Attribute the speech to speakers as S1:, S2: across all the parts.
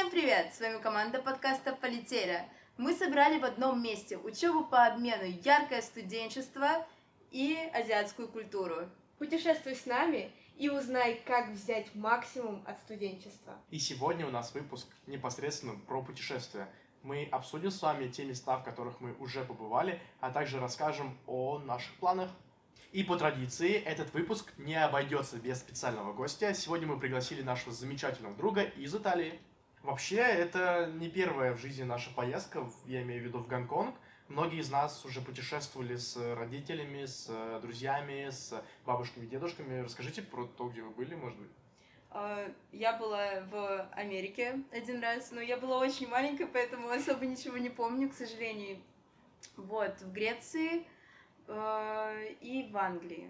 S1: Всем привет! С вами команда подкаста «Полетели». Мы собрали в одном месте учебу по обмену, яркое студенчество и азиатскую культуру.
S2: Путешествуй с нами и узнай, как взять максимум от студенчества.
S3: И сегодня у нас выпуск непосредственно про путешествия. Мы обсудим с вами те места, в которых мы уже побывали, а также расскажем о наших планах. И по традиции этот выпуск не обойдется без специального гостя. Сегодня мы пригласили нашего замечательного друга из Италии. Вообще, это не первая в жизни наша поездка, я имею в виду в Гонконг. Многие из нас уже путешествовали с родителями, с друзьями, с бабушками, дедушками. Расскажите про то, где вы были, может быть.
S1: Я была в Америке один раз, но я была очень маленькая, поэтому особо ничего не помню, к сожалению. Вот, в Греции и в Англии.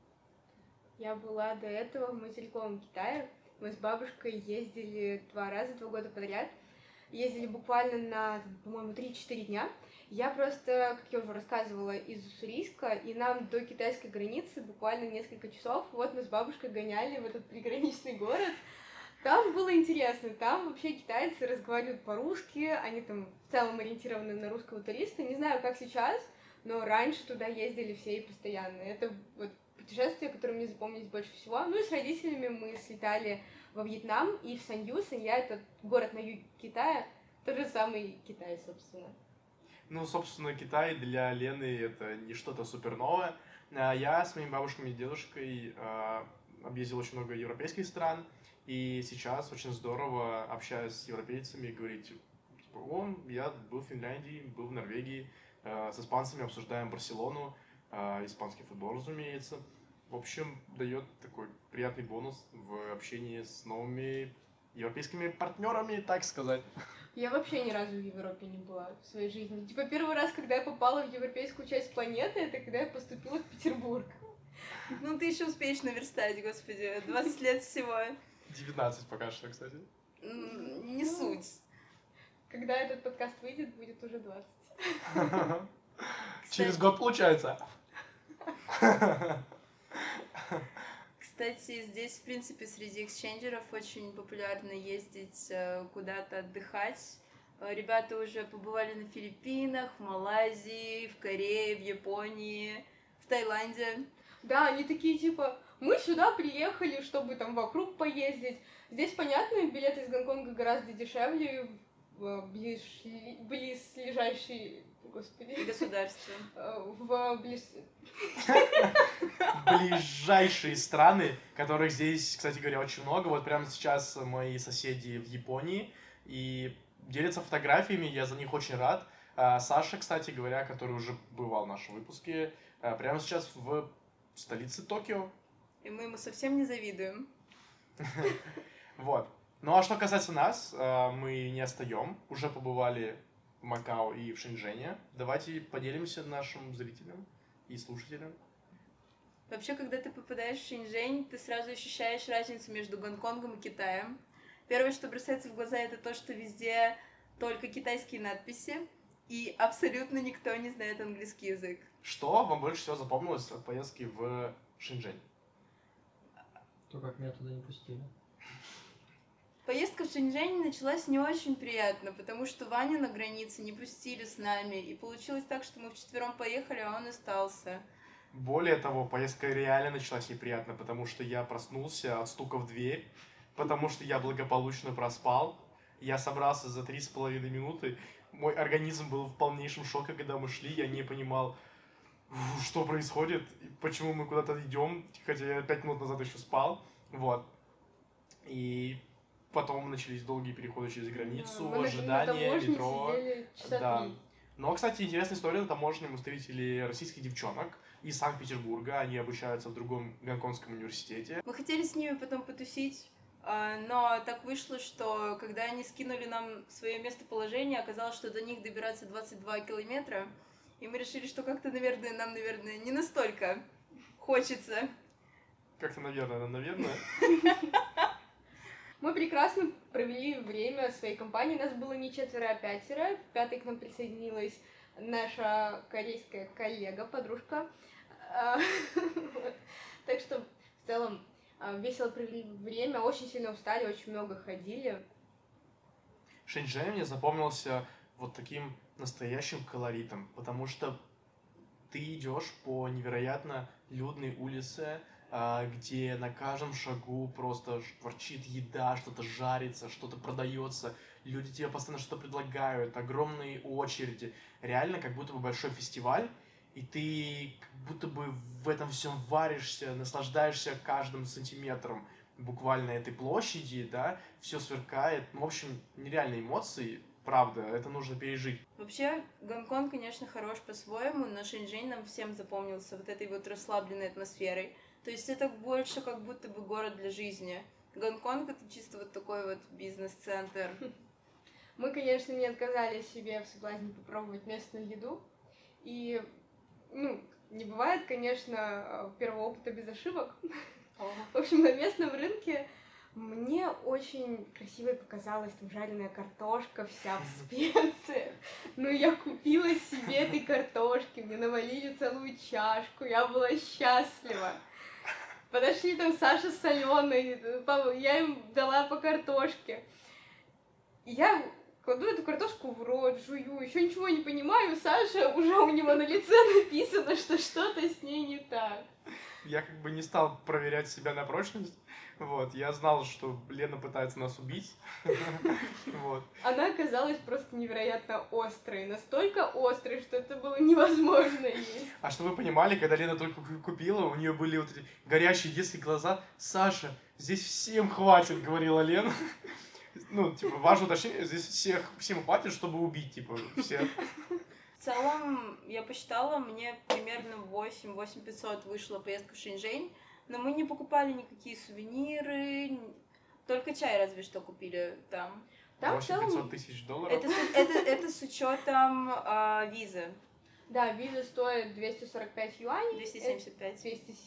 S2: Я была до этого в материковом Китае. Мы с бабушкой ездили 2 года подряд. Ездили буквально на, по-моему, 3-4 дня. Я просто, как я уже рассказывала, из Уссурийска, и нам до китайской границы буквально несколько часов. Вот мы с бабушкой гоняли в этот приграничный город. Там было интересно, там вообще китайцы разговаривают по-русски, они там в целом ориентированы на русского туриста. Не знаю, как сейчас, но раньше туда ездили все и постоянно. Это вот путешествия, которые мне запомнились больше всего. Ну и с родителями мы слетали во Вьетнам и в Санью. Санья — это город на юге Китая, тот же самый Китай, собственно.
S3: Ну, собственно, Китай для Лены это не что-то супер новое. Я с моими бабушками и дедушкой объездил очень много европейских стран, и сейчас очень здорово, общаясь с европейцами, говорить, типа, я был в Финляндии, был в Норвегии, с испанцами обсуждаем Барселону, испанский футбол, разумеется. В общем, дает такой приятный бонус в общении с новыми европейскими партнерами, так сказать.
S2: Я вообще ни разу в Европе не была в своей жизни. Типа первый раз, когда я попала в европейскую часть планеты, это когда я поступила в Петербург.
S1: Ну, ты еще успеешь наверстать, господи, 20 лет всего.
S3: 19 пока что, кстати.
S1: Не суть.
S2: Когда этот подкаст выйдет, будет уже 20.
S3: Через год получается.
S1: Кстати, здесь, в принципе, среди эксченджеров очень популярно ездить куда-то отдыхать. Ребята уже побывали на Филиппинах, в Малайзии, в Корее, в Японии, в Таиланде.
S2: Да, они такие, типа, мы сюда приехали, чтобы там вокруг поездить. Здесь, понятно, билеты из Гонконга гораздо дешевле в близлежащие, господи,
S1: Государства.
S3: Ближайшие страны, которых здесь, кстати говоря, очень много. Вот прямо сейчас мои соседи в Японии и делятся фотографиями, я за них очень рад. Саша, кстати говоря, который уже бывал в нашем выпуске, прямо сейчас в столице Токио.
S1: И мы ему совсем не завидуем.
S3: Вот. Ну а что касается нас, мы не отстаем. Уже побывали в Макао и в Шэньчжэне. Давайте поделимся нашим зрителям и слушателям.
S1: Вообще, когда ты попадаешь в Шэньчжэнь, ты сразу ощущаешь разницу между Гонконгом и Китаем. Первое, что бросается в глаза, это то, что везде только китайские надписи, и абсолютно никто не знает английский язык.
S3: Что вам больше всего запомнилось от поездки в Шэньчжэнь?
S4: То, как меня туда не пустили.
S1: Поездка в Шэньчжэнь началась не очень приятно, потому что Ваню на границе не пустили с нами, и получилось так, что мы вчетвером поехали, а он остался.
S3: Более того, поездка реально началась неприятно, потому что я проснулся от стука в дверь, потому что я благополучно проспал. Я собрался за 3,5 минуты. Мой организм был в полнейшем шоке, когда мы шли. Я не понимал, что происходит, почему мы куда-то идем, хотя я 5 минут назад еще спал. Вот. И потом начались долгие переходы через границу, ожидания, метро. Да. Но, кстати, интересная история на таможне. Мы встретили российских девчонок из Санкт-Петербурга. Они обучаются в другом гонконгском университете.
S1: Мы хотели с ними потом потусить, но так вышло, что когда они скинули нам свое местоположение, оказалось, что до них добираться 22 километра. И мы решили, что как-то, нам, наверное, не настолько хочется.
S3: Как-то, наверное.
S2: Мы прекрасно провели время своей компании. Нас было не 4, а 5. Пятой к нам присоединилась наша корейская коллега, подружка. Так что, в целом, весело провели время, очень сильно устали, очень много ходили.
S3: Шэньчжэнь мне запомнился вот таким настоящим колоритом, потому что ты идешь по невероятно людной улице, где на каждом шагу просто шкварчит еда, что-то жарится, что-то продается, люди тебе постоянно что-то предлагают, огромные очереди, реально как будто бы большой фестиваль, и ты как будто бы в этом всем варишься, наслаждаешься каждым сантиметром буквально этой площади, да, все сверкает, ну, в общем, нереальные эмоции, правда, это нужно пережить.
S1: Вообще, Гонконг, конечно, хорош по-своему, но Шэньчжэнь нам всем запомнился вот этой вот расслабленной атмосферой. То есть это больше как будто бы город для жизни. Гонконг — это чисто вот такой вот бизнес-центр.
S2: Мы, конечно, не отказали себе в соблазне попробовать местную еду. И, ну, не бывает, конечно, первого опыта без ошибок. В общем, на местном рынке мне очень красивой показалась там жареная картошка вся в специях. Ну, я купила себе этой картошки, мне навалили целую чашку, я была счастлива. Подошли там Саша с Аленой, я им дала по картошке. И я кладу эту картошку в рот, жую, еще ничего не понимаю, Саша, уже у него на лице написано, что что-то с ней не так.
S3: Я как бы не стал проверять себя на прочность, вот, я знал, что Лена пытается нас убить, вот.
S2: Она оказалась просто невероятно острой, настолько острой, что это было невозможно есть.
S3: А что вы понимали, когда Лена только купила, у нее были вот эти горящие детские глаза. Саша, здесь всем хватит, говорила Лена. Ну, типа, важно уточнение, здесь всем хватит, чтобы убить, типа, всех.
S1: В целом, я посчитала, мне примерно 8-500 вышла поездка в Шэньчжэнь, но мы не покупали никакие сувениры, только чай разве что купили там.
S2: Там в
S3: 500
S2: целом,
S3: тысяч долларов.
S1: Это с учетом визы.
S2: да, виза стоит 245 юаней.
S1: 275.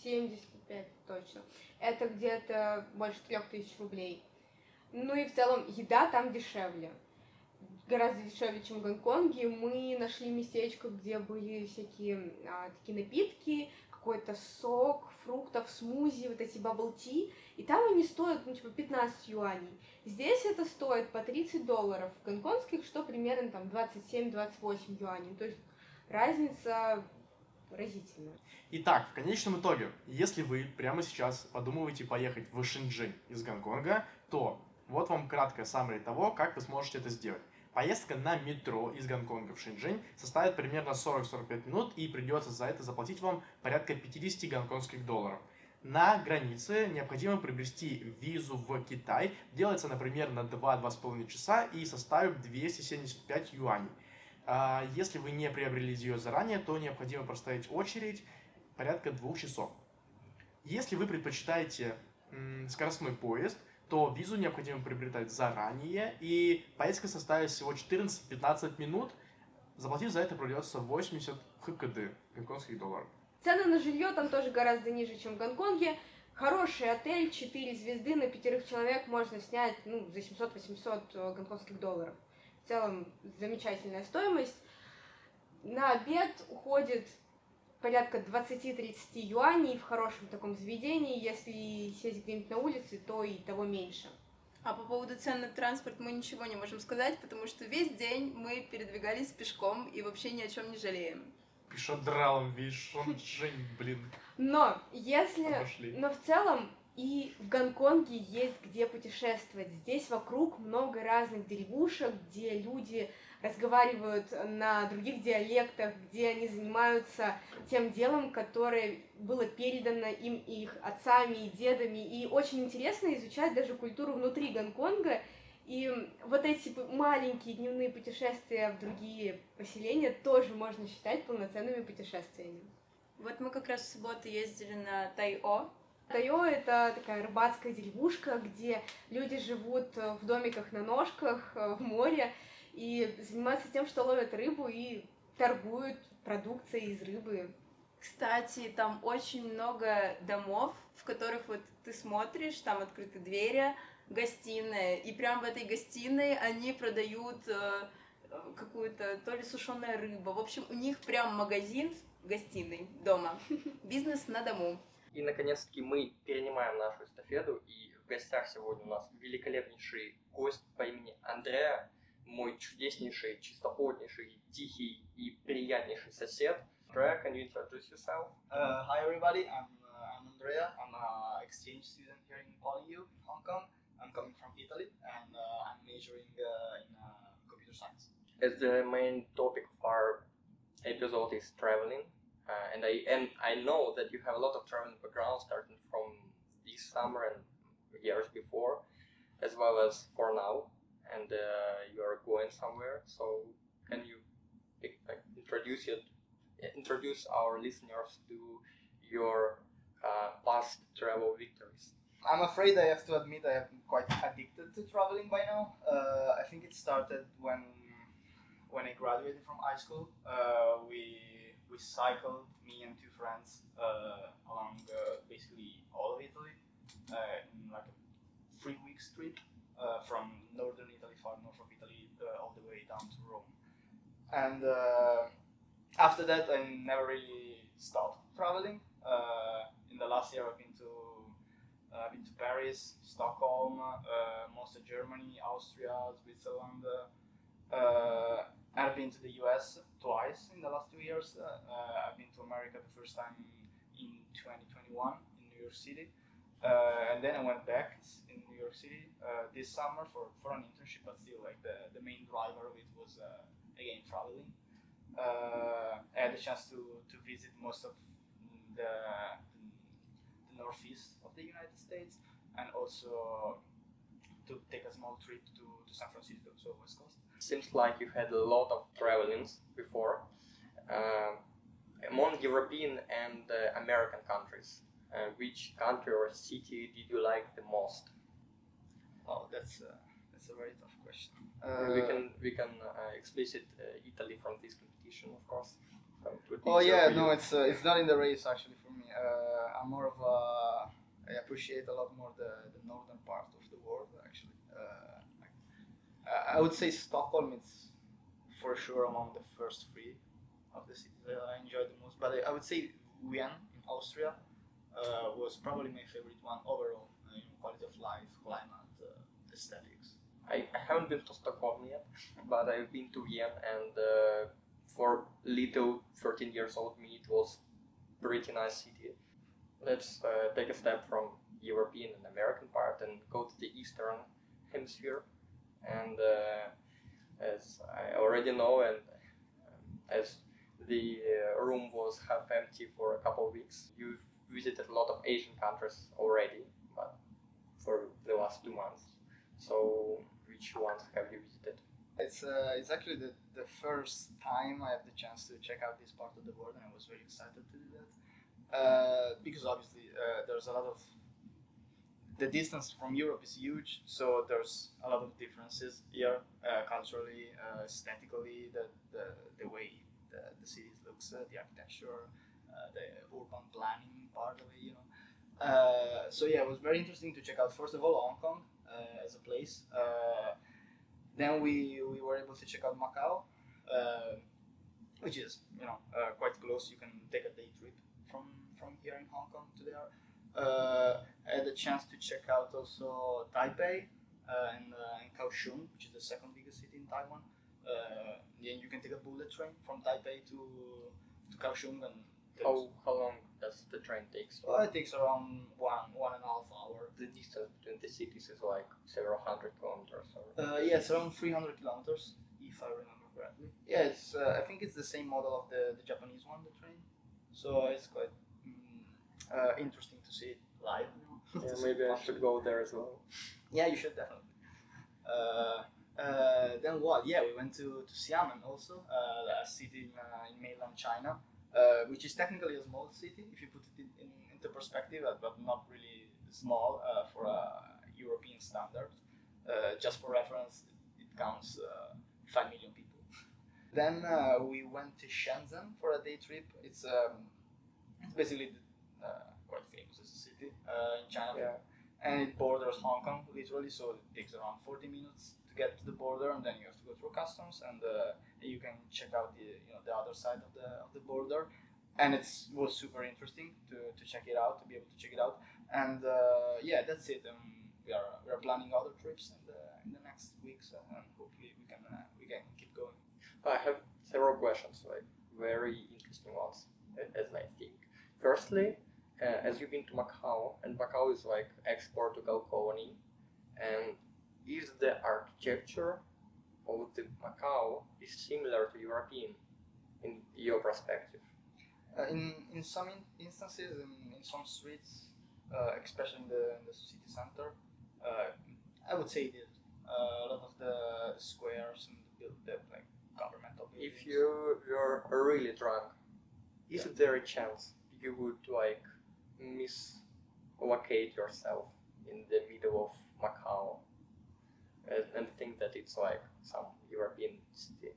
S2: 275, точно. Это где-то больше 3000 рублей. Ну и в целом еда там дешевле. Гораздо дешевле, чем в Гонконге. Мы нашли местечко, где были всякие такие напитки, какой-то сок, фруктов, смузи, вот эти бабл-ти. И там они стоят, ну, типа, 15 юаней. Здесь это стоит по 30 долларов. В гонконгских, что примерно там 27-28 юаней. То есть разница разительная.
S3: Итак, в конечном итоге, если вы прямо сейчас подумываете поехать в Шэньчжэнь из Гонконга, то вот вам краткое саммари того, как вы сможете это сделать. Поездка на метро из Гонконга в Шэньчжэнь составит примерно 40-45 минут, и придется за это заплатить вам порядка 50 гонконгских долларов. На границе необходимо приобрести визу в Китай. Делается, например, на 2-2,5 часа и составит 275 юаней. Если вы не приобрели ее заранее, то необходимо простоять очередь порядка 2 часов. Если вы предпочитаете скоростной поезд, то визу необходимо приобретать заранее, и поездка составит всего 14-15 минут. Заплатив за это придется 80 ХКД, гонконгских долларов.
S2: Цены на жилье там тоже гораздо ниже, чем в Гонконге. Хороший отель, 4 звезды на 5 человек можно снять за 700-800 гонконгских долларов. В целом замечательная стоимость. На обед уходит порядка 20-30 юаней в хорошем таком заведении. Если сесть где-нибудь на улице, то и того меньше.
S1: А по поводу цен на транспорт мы ничего не можем сказать, потому что весь день мы передвигались пешком и вообще ни о чем не жалеем.
S3: Пешедралом весь Шэньчжэнь, блин.
S2: Но в целом и в Гонконге есть где путешествовать. Здесь вокруг много разных деревушек, где люди разговаривают на других диалектах, где они занимаются тем делом, которое было передано им их отцами и дедами. И очень интересно изучать даже культуру внутри Гонконга. И вот эти маленькие дневные путешествия в другие поселения тоже можно считать полноценными путешествиями.
S1: Вот мы как раз в субботу ездили на Тайо.
S2: Тайо — это такая рыбацкая деревушка, где люди живут в домиках на ножках в море и занимаются тем, что ловят рыбу и торгуют продукцией из рыбы.
S1: Кстати, там очень много домов, в которых вот ты смотришь, там открыты двери, гостиная, и прям в этой гостиной они продают какую-то то ли сушеная рыба. В общем, у них прям магазин в гостиной дома. Бизнес на дому.
S5: И, наконец-таки, мы перенимаем нашу эстафету, и в гостях сегодня у нас великолепнейший гость по имени Андреа. мой чудеснейший, чистоплотнейший, тихий и приятнейший сосед. Andrea, can you introduce yourself?
S6: Hi everybody, I'm Andrea. I'm an exchange student here in PolyU, Hong Kong. I'm coming from Italy and I'm majoring in computer science.
S5: As the main topic of our episode is traveling, and I know that you have a lot of traveling background starting from this summer and years before, as well as for now, and you are going somewhere. So can you introduce our listeners to your past travel victories?
S6: I'm afraid I have to admit I am quite addicted to traveling by now. I think it started when I graduated from high school. We cycled, me and two friends, along basically all of Italy in like a 3 week trip from northern Italy, far north of Italy, all the way down to Rome. And after that, I never really stopped traveling. In the last year, I've been to Paris, Stockholm, most of Germany, Austria, Switzerland. I've been to the US twice in the last 2 years. I've been to America the first time in 2021 in New York City. And then I went back in New York City this summer for an internship, but still like the main driver of it was again traveling. I had the chance to visit most of the northeast of the United States and also to take a small trip to San Francisco, so West Coast.
S5: Seems like you had a lot of travelings before among European and American countries. Which country or city did you like the most?
S6: Oh, that's a very tough question.
S5: We can explicit Italy from this competition, of course. So it would be
S6: Oh
S5: easier
S6: yeah,
S5: for
S6: no,
S5: you.
S6: it's not in the race actually for me. I'm more of I appreciate a lot more the northern part of the world actually. I would say Stockholm is for sure among the first three of the cities that I enjoyed the most. But I would say Vienna in Austria was probably my favorite one overall. Quality of life, climate, aesthetics.
S5: I haven't been to Stockholm yet, but I've been to Vienna, and for little 13 years old me, it was pretty nice city. Let's take a step from European and American part and go to the Eastern Hemisphere. And as I already know, and as the room was half empty for a couple of weeks, you've visited a lot of Asian countries already, but for the last 2 months. So which ones have you visited?
S6: It's actually the first time I have the chance to check out this part of the world, and I was very excited to do that because obviously there's a lot of the distance from Europe is huge, so there's a lot of differences here culturally, aesthetically, the way the cities looks, the architecture, the urban planning part of it, So yeah, it was very interesting to check out first of all Hong Kong as a place. Then we were able to check out Macau, which is quite close. You can take a day trip from here in Hong Kong to there. I had a chance to check out also Taipei and Kaohsiung, which is the second biggest city in Taiwan. Then you can take a bullet train from Taipei to Kaohsiung, and
S5: How long does the train take?
S6: it takes around one and a half hour.
S5: The distance between the cities is like several hundred kilometers. Or...
S6: Yeah, it's around 300 kilometers, if I remember correctly. Yeah, it's I think it's the same model of the Japanese one, the train. So it's quite interesting to see it live.
S5: Yeah, maybe I should go there as well.
S6: Yeah, you should definitely. Then what? Yeah, we went to Xiamen also, a city in mainland China, which is technically a small city if you put it into perspective, but not really small for a European standard. Just for reference, it counts 5 million people. Then we went to Shenzhen for a day trip. It's basically quite famous as a city in China.
S5: Yeah.
S6: And it borders Hong Kong literally, so it takes around 40 minutes to get to the border, and then you have to go through customs, and you can check out the other side of the border, and it was super interesting to check it out, to be able to check it out, and yeah, that's it. We are planning other trips in the next weeks, and hopefully we can
S5: I have several questions, like very interesting ones, as I think. Firstly, as you've been to Macau, and Macau is like ex-Portugal colony, and is the architecture of the Macau is similar to European in your perspective?
S6: In some instances, in some streets, especially in the city center, I would say it is. A lot of the squares and the like governmental buildings.
S5: If you're really drunk, is there a chance you would like mislocate yourself in the middle of Macau and think that it's like some European city?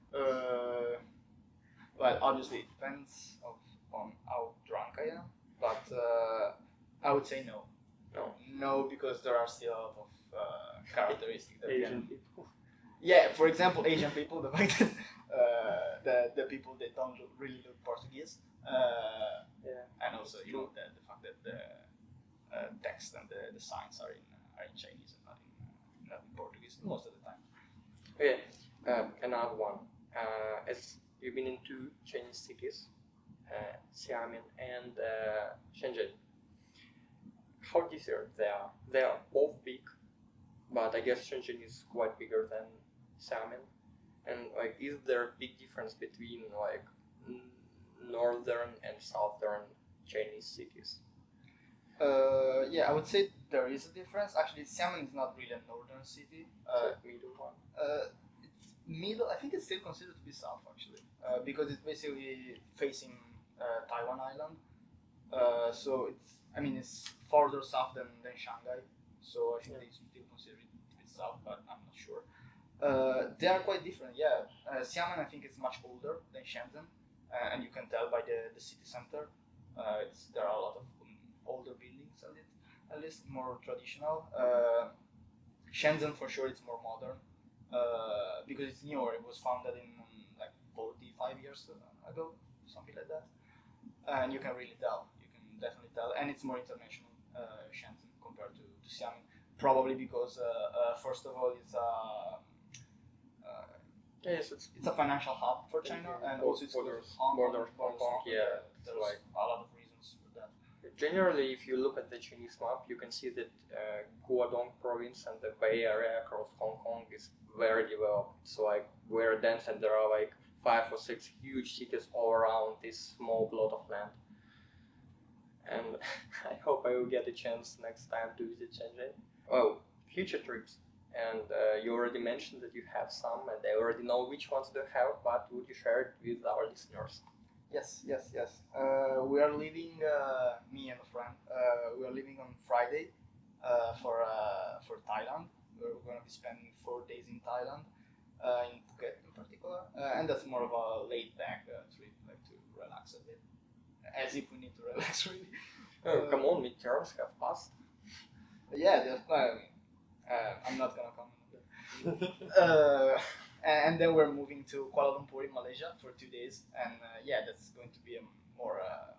S6: Well, obviously it depends on how drunk I am, but I would say no. No, because there are still a lot of characteristics that
S5: Asian people.
S6: Yeah, for example, Asian people, the fact that the people that don't really look Portuguese, and also the fact that the text and the signs are in Chinese and not in Portuguese most of the time.
S5: Okay, another one. As you've been in two Chinese cities, Xiamen and Shenzhen. How different they are? They are both big, but I guess Shenzhen is quite bigger than Xiamen. And like, is there a big difference between like northern and southern Chinese cities?
S6: Yeah, I would say there is a difference. Actually, Xiamen is not really a northern city.
S5: Middle one.
S6: It's middle. I think it's still considered to be south actually, because it's basically facing Taiwan Island. So it's farther south than Shanghai. So I think they still consider it to be south, but I'm not sure. They are quite different. Yeah, Xiamen I think is much older than Shenzhen, and you can tell by the city center. There are a lot of older buildings, at least more traditional. Shenzhen for sure it's more modern because it's newer. It was founded in like 45 years ago, something like that, and you can really tell. You can definitely tell, and it's more international Shenzhen compared to Xiamen. Probably because first of all
S5: Yes,
S6: it's a financial hub for China, and also it's
S5: borders
S6: Hong
S5: Hong Kong. Yeah,
S6: there's
S5: like
S6: a lot of reasons for that.
S5: generally, if you look at the Chinese map, you can see that Guangdong province and the Bay Area across Hong Kong is very developed. It's like very dense, and there are like 5 or 6 huge cities all around this small plot of land. And I hope I will get a chance next time to visit Shenzhen. Oh, future trips. And you already mentioned that you have some, and I already know which ones you have, but would you share it with our listeners?
S6: Yes. We are leaving, me and a friend. We are leaving on Friday for Thailand. We're going to be spending 4 days in Thailand, in Phuket in particular, and that's more of a laid-back trip, like to relax a bit, as if we need to relax really.
S5: Come on, midterms have passed.
S6: Yeah, I'm not gonna comment on that. And then we're moving to Kuala Lumpur in Malaysia for 2 days, and that's going to be a more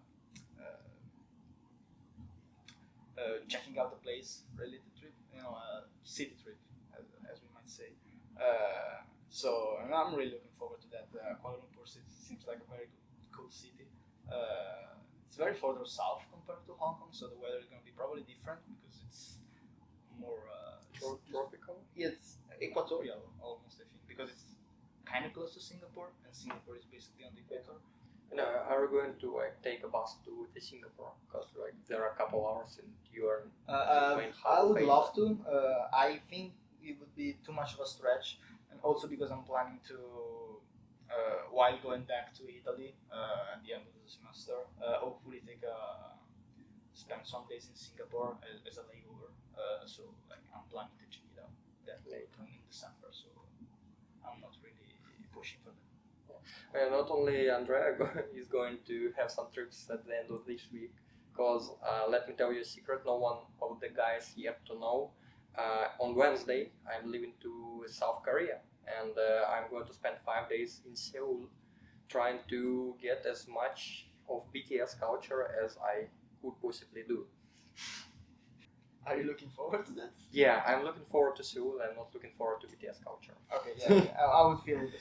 S6: checking out the place related trip, a city trip, as we might say. So I'm really looking forward to that. Kuala Lumpur seems like a very cool city. It's very further south compared to Hong Kong, so the weather is going to be probably different because it's more
S5: Tropical?
S6: it's equatorial almost, I think, because it's kind of close to Singapore, and Singapore is basically on the equator.
S5: And are we going to like take a bus to Singapore? Because like there are a couple hours and you are going
S6: I would
S5: halfway.
S6: love to. I think it would be too much of a stretch, and also because I'm planning to, while going back to Italy at the end of the semester, hopefully spend some days in Singapore as a layover. So like I'm planning to check it out that later in December. So I'm not really pushing for that.
S5: Not only Andrea is going to have some trips at the end of this week, because let me tell you a secret, no one of the guys yet to know. On Wednesday, I'm leaving to South Korea, and I'm going to spend 5 days in Seoul, trying to get as much of BTS culture as I could possibly do.
S6: Are you looking forward to that?
S5: Yeah, I'm looking forward to Seoul. I'm not looking forward to BTS culture.
S6: Okay, yeah, I would feel the same.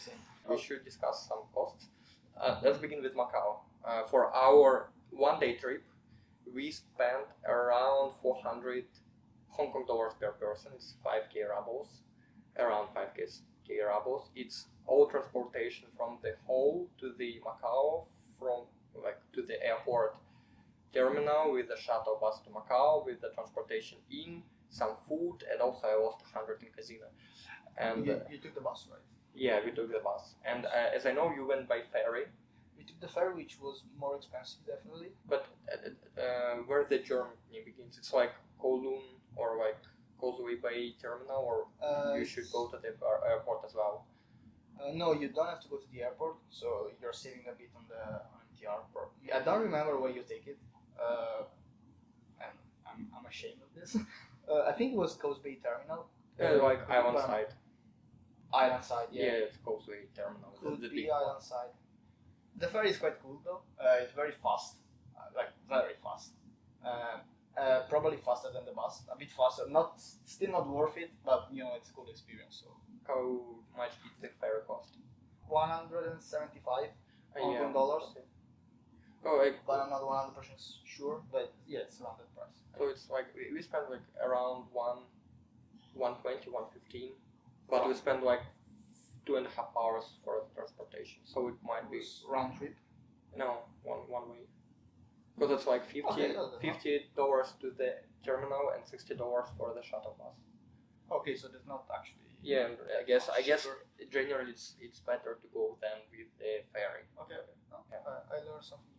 S5: we should discuss some costs. Let's begin with Macau. For our one-day trip, we spent around 400 Hong Kong dollars per person. It's 5k rubles, around 5k rubles. It's all transportation from the hall to the Macau, from to the airport terminal with the shuttle bus to Macau, with the transportation in, some food, and also I lost 100 in casino. And
S6: you took the bus, right?
S5: yeah, we took the bus. And as I know, you went by ferry.
S6: We took the ferry, which was more expensive, definitely.
S5: But where the journey begins, it's like Kowloon or like Causeway Bay terminal, or you should go to the airport as well.
S6: No, you don't have to go to the airport, so you're saving a bit on the MTR. I don't remember where you take it, and I'm ashamed of this. I think it was Causeway Terminal.
S5: Like Island Side.
S6: Island Side, yeah.
S5: Yeah, it's Causeway Terminal.
S6: Could
S5: the
S6: be
S5: big
S6: Island Side. The ferry is quite cool though. It's very fast, like very fast. Probably faster than the bus. A bit faster. Still not worth it, but you know it's a good experience. So
S5: How much did the ferry cost?
S6: 175 Hong Kong dollars.
S5: Okay. Oh,
S6: But I'm not 100% sure. But yeah, it's around that price.
S5: so it's like we spent like around 120, 115, but we spent like 2.5 hours for the transportation. So it might be
S6: It's round trip.
S5: no one way. Because it's like
S6: Okay, no, that's
S5: $50 to the terminal and $60 for the shuttle bus.
S6: Okay, so there's not actually.
S5: Yeah, and I guess
S6: Cheaper.
S5: generally it's better to go than with the ferry.
S6: Okay. No,
S5: Yeah.
S6: I learned something.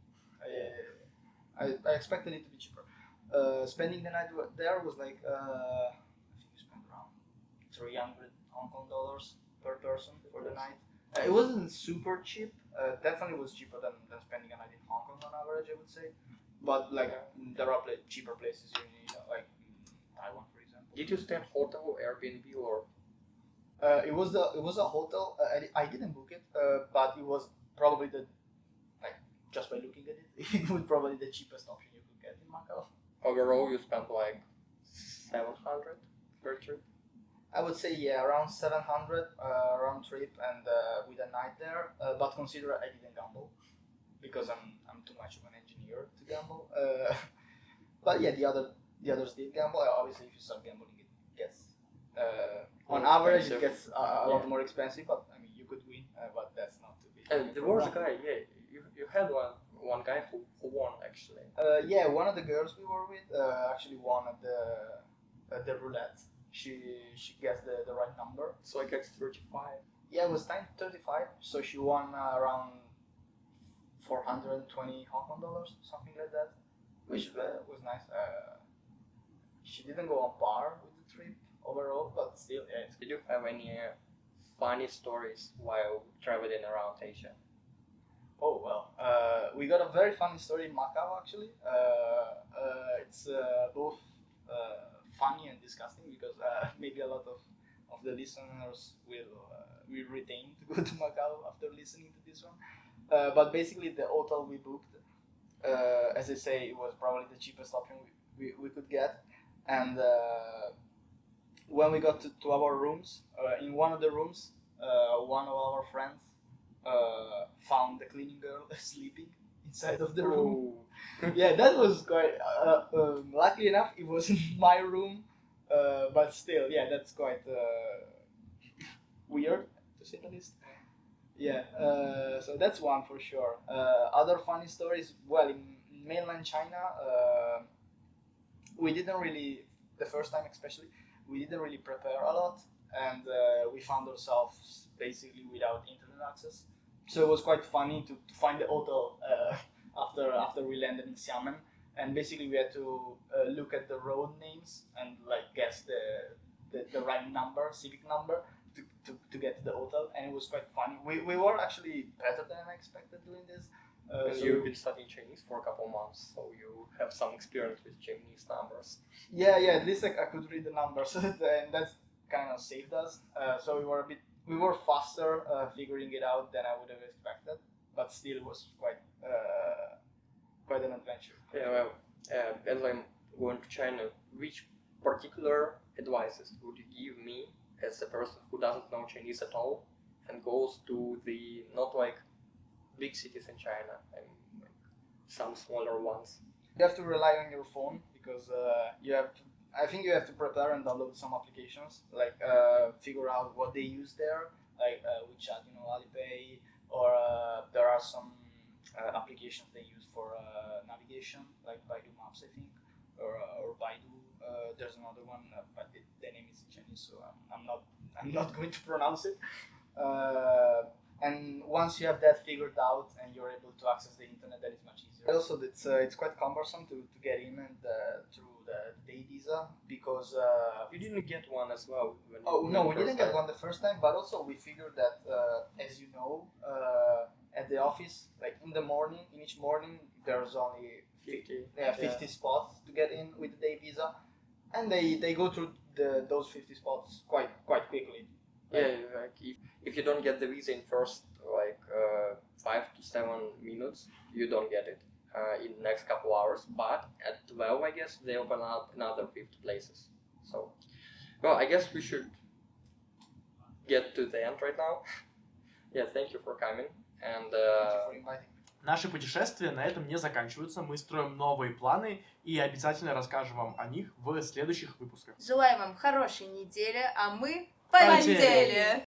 S6: I expected it to be cheaper. Spending the night there was like I think we spent around 300 Hong Kong dollars per person for the night. It wasn't super cheap. Definitely was cheaper than spending a night in Hong Kong on average, I would say. But like there are cheaper places in like Taiwan, for example.
S5: Did you stay in hotel or Airbnb or?
S6: It was a hotel. I didn't book it, but it was probably just by looking at it, it was probably the cheapest option you could get in Macau.
S5: Overall, you spent like 700 per trip.
S6: I would say around 700 round trip and with a night there. But consider I didn't gamble because I'm too much of an engineer to gamble. But yeah, the others did gamble. Obviously, if you start gambling, it gets on
S5: More
S6: average
S5: expensive.
S6: it gets a lot more expensive. But I mean, you could win, but that's not too big.
S5: And there was a guy, you had one guy who won actually.
S6: Yeah, one of the girls we were with actually won at the roulette. She guessed the right number.
S5: It's like X35.
S6: Yeah, it was 935, so she won around 420 Hong Kong dollars, something like that, which was nice. She didn't go on par with the trip overall, but still, yeah.
S5: Did you have any funny stories while traveling around Asia?
S6: Oh well, we got a very funny story in Macau actually. It's both funny and disgusting because maybe a lot of the listeners will retain to go to Macau after listening to this one. But basically, the hotel we booked, as I say, it was probably the cheapest option we could get. And when we got to our rooms, in one of the rooms, one of our friends found the cleaning girl sleeping inside of the room. Yeah, that was quite. Luckily enough, it was in my room, but still, yeah, that's quite weird to say the least. Yeah, so that's one for sure. Other funny stories. Well, in mainland China, we didn't really, the first time especially, we didn't really prepare a lot, and we found ourselves basically without internet access. So it was quite funny to find the hotel after we landed in Xiamen, and basically we had to look at the road names and like guess the right number, civic number, to get to the hotel, and it was quite funny. We were actually better than I expected doing this.
S5: And
S6: So
S5: you've been studying Chinese for a couple months, so you have some experience with Chinese numbers.
S6: yeah, at least I could read the numbers, and that's kind of saved us. So we were faster figuring it out than I would have expected, but still it was quite an adventure.
S5: Yeah, well, as I'm going to China, which particular advices would you give me as a person who doesn't know Chinese at all and goes to the not like big cities in China and like some smaller ones.
S6: You have to rely on your phone because you have to. I think you have to prepare and download some applications, like figure out what they use there, like WeChat, Alipay, or there are some applications they use for navigation, like Baidu Maps, I think, or Baidu. There's another one, but the name is in Chinese, so I'm not going to pronounce it. And once you have that figured out and you're able to access the internet, that is much easier. Also, it's quite cumbersome to get in and through the day visa because
S5: You didn't get one as well. When
S6: oh
S5: you
S6: no,
S5: went
S6: we didn't
S5: first
S6: get
S5: time.
S6: one the first time, but also we figured that as you know, at the office, like in the morning, in each morning, there's only
S5: 50.
S6: 50 spots to get in with the day visa, and they go through those 50 spots quite quickly.
S5: Yeah, like if you don't get the visa in first like 5 to 7 minutes, you don't get it in the next couple hours. But at 12, I guess they open up another 50 places. So, well, I guess we should get to the end right now. Yeah, thank you for coming. And
S6: Thank you for inviting me.
S3: Наши путешествия на этом не заканчиваются. Мы строим новые планы и обязательно расскажем вам о них в следующих выпусках.
S1: Желаем вам хорошей недели, а мы
S3: Полетели!
S1: полетели!